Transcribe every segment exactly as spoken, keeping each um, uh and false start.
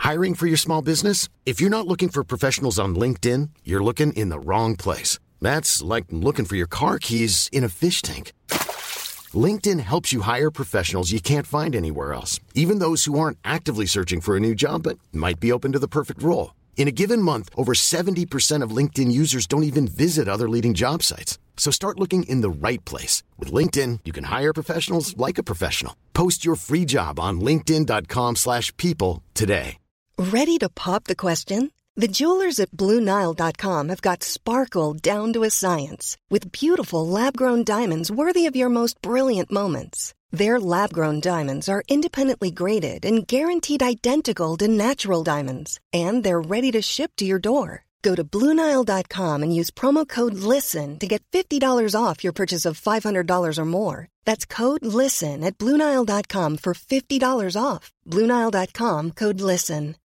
Hiring for your small business? If you're not looking for professionals on LinkedIn, you're looking in the wrong place. That's like looking for your car keys in a fish tank. LinkedIn helps you hire professionals you can't find anywhere else, even those who aren't actively searching for a new job but might be open to the perfect role. In a given month, over seventy percent of LinkedIn users don't even visit other leading job sites. So start looking in the right place. With LinkedIn, you can hire professionals like a professional. Post your free job on linkedin dot com slash people today. Ready to pop the question? The jewelers at Blue Nile dot com have got sparkle down to a science with beautiful lab-grown diamonds worthy of your most brilliant moments. Their lab-grown diamonds are independently graded and guaranteed identical to natural diamonds, and they're ready to ship to your door. Go to Blue Nile dot com and use promo code LISTEN to get fifty dollars off your purchase of five hundred dollars or more. That's code LISTEN at Blue Nile dot com for fifty dollars off. Blue Nile dot com, code LISTEN.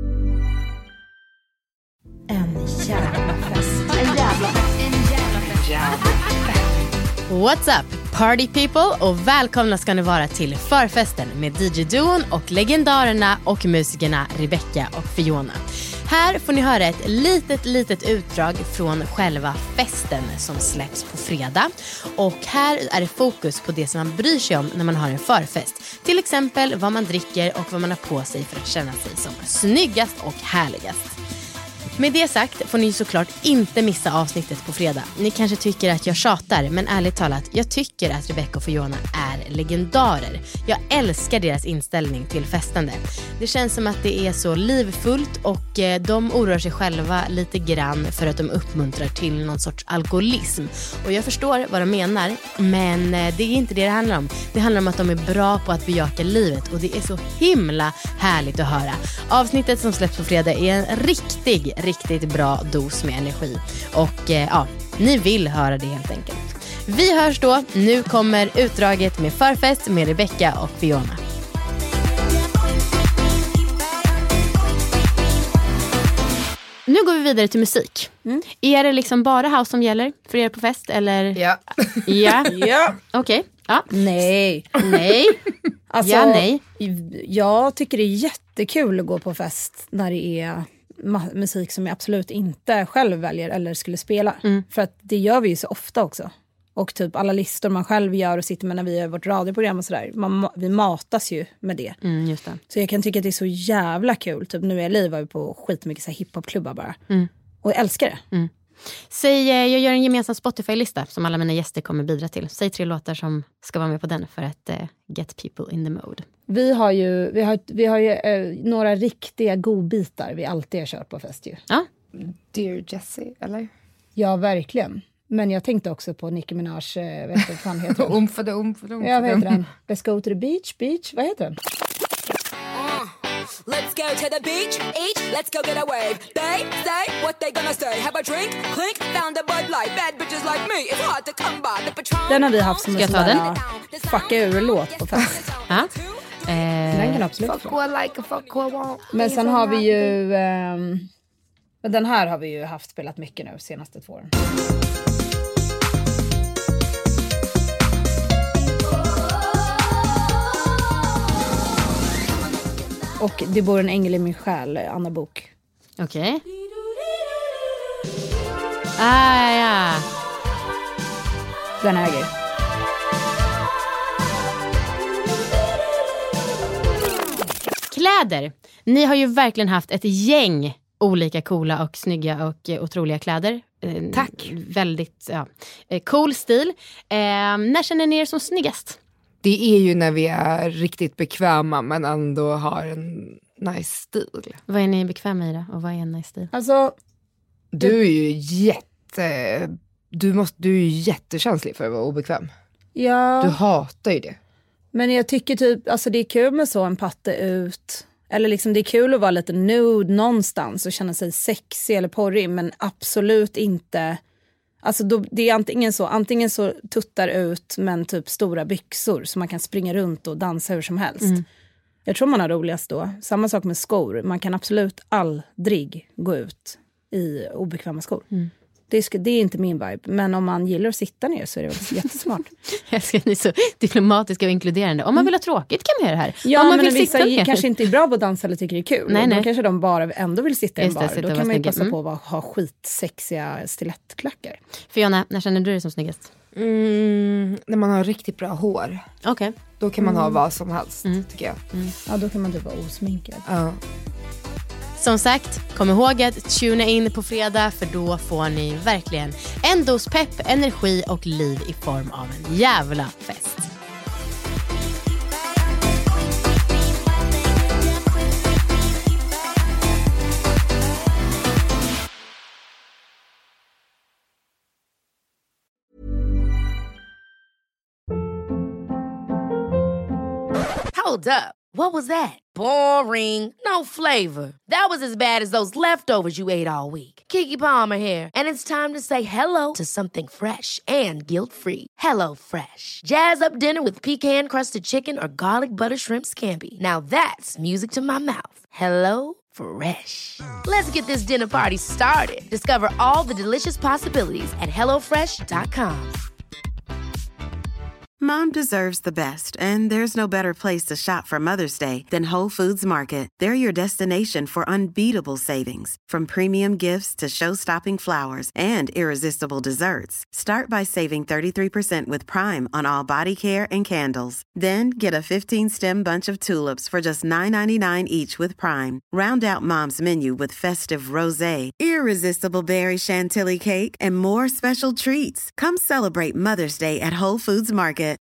En jävla fest. En jävla fest. En jävla fest. Jävla fest. What's up, party people, och välkomna ska ni vara till förfesten med D J-duon och legendarerna och musikerna Rebecca och Fiona. Här får ni höra ett litet, litet utdrag från själva festen som släpps på fredag. Och här är det fokus på det som man bryr sig om när man har en förfest. Till exempel vad man dricker och vad man har på sig för att känna sig som snyggast och härligast. Med det sagt får ni såklart inte missa avsnittet på fredag. Ni kanske tycker att jag tjatar, men ärligt talat, jag tycker att Rebecca och Fiona är legendarer. Jag älskar deras inställning till festande. Det känns som att det är så livfullt och de oroar sig själva lite grann för att de uppmuntrar till någon sorts alkoholism. Och jag förstår vad de menar, men det är inte det det handlar om. Det handlar om att de är bra på att bejaka livet och det är så himla härligt att höra. Avsnittet som släpps på fredag är en riktig riktigt bra dos med energi. Och eh, ja, ni vill höra det helt enkelt. Vi hörs då. Nu kommer utdraget med förfest med Rebecca och Fiona. Nu går vi vidare till musik. Mm. Är det liksom bara house som gäller för er på fest? Eller? Ja. Ja. Ja. Okej. Okay. Ja. Nej. Nej. Alltså, ja, nej. Jag tycker det är jättekul att gå på fest när det är ma- musik som jag absolut inte själv väljer eller skulle spela. Mm. För att det gör vi ju så ofta också. Och typ alla listor man själv gör och sitter med när vi gör vårt radioprogram och sådär. Man, vi matas ju med det. Mm, just det. Så jag kan tycka att det är så jävla kul. Typ nu i L A var vi på skitmycket så här hiphopklubbar bara. Mm. Och jag älskar det. Mm. Säg, jag gör en gemensam Spotify-lista som alla mina gäster kommer bidra till. Säg tre låtar som ska vara med på den för att uh, get people in the mode. Vi har ju, vi har, vi har ju uh, några riktiga godbitar vi alltid har kört på fest ju. Ja. Dear Jessie, eller? Ja, verkligen. Men jag tänkte också på Nicki Minaj, uh, vet du vad fan heter den? Umfade, umfade, umfade. Ja, vad heter den? Let's go to the beach, beach, vad heter den? Let's go to the beach, each, let's go get a wave. They say what they gonna say. Have a drink, clink, found a Bud Light. Bad bitches like me, it's hard to come by. The Patron. Den har vi haft som en sån där fucka ur-låt på fest. Ja. Eh, den kan absolut fuck what I like, fuck what I want. Men sen har vi ju... Um, den här har vi ju haft spelat mycket nu senaste två åren. Och Det bor en ängel i min själ, Anna Bok. Okej. Okay. Ah, ja. Den äger. Kläder. Ni har ju verkligen haft ett gäng olika coola och snygga och eh, otroliga kläder. Eh, Tack. Väldigt ja, eh, cool stil. Eh, när känner ni er som snyggast? Det är ju när vi är riktigt bekväma men ändå har en nice stil. Vad är ni bekväma i då? Och vad är en nice stil? Alltså, du är ju jätte... Du, måste, du är ju jättekänslig för att vara obekväm. Ja. Du hatar ju det. Men jag tycker typ, alltså det är kul med så en patte ut. Eller liksom det är kul att vara lite nude någonstans och känna sig sexig eller porrig. Men absolut inte... Alltså då, det är antingen så, antingen så tuttar ut men typ stora byxor så man kan springa runt och dansa hur som helst. Mm. Jag tror man har roligast då. Samma sak med skor. Man kan absolut aldrig gå ut i obekväma skor. Mm. Det, ska, det är inte min vibe. Men om man gillar att sitta ner så är det väl jättesmart. Jag ska ni så diplomatiska och inkluderande. Om man vill ha tråkigt kan man göra det här. Ja, om man men vill vissa sitta kanske inte är bra på att dansa eller tycker det är kul. Nej, nej. Då kanske de bara ändå vill sitta i en Just det, bar. sitta Då och kan man ju vara passa snygg. på att ha skitsexiga stilettklackar. Fiona, när känner du dig som snyggast? Mm, när man har riktigt bra hår. Okej. Okay. Då kan man ha vad som helst, Mm. tycker jag. Mm. Ja, då kan man typ vara osminkad. Ja. Som sagt, kom ihåg att tuna in på fredag för då får ni verkligen en dos pepp, energi och liv i form av en jävla fest. Hold up. What was that? Boring. No flavor. That was as bad as those leftovers you ate all week. Keke Palmer here, and it's time to say hello to something fresh and guilt-free. Hello Fresh. Jazz up dinner with pecan-crusted chicken or garlic butter shrimp scampi. Now that's music to my mouth. Hello Fresh. Let's get this dinner party started. Discover all the delicious possibilities at hello fresh dot com. Mom deserves the best, and there's no better place to shop for Mother's Day than Whole Foods Market. They're your destination for unbeatable savings, from premium gifts to show-stopping flowers and irresistible desserts. Start by saving thirty-three percent with Prime on all body care and candles. Then get a fifteen-stem bunch of tulips for just nine ninety-nine each with Prime. Round out Mom's menu with festive rosé, irresistible berry chantilly cake, and more special treats. Come celebrate Mother's Day at Whole Foods Market.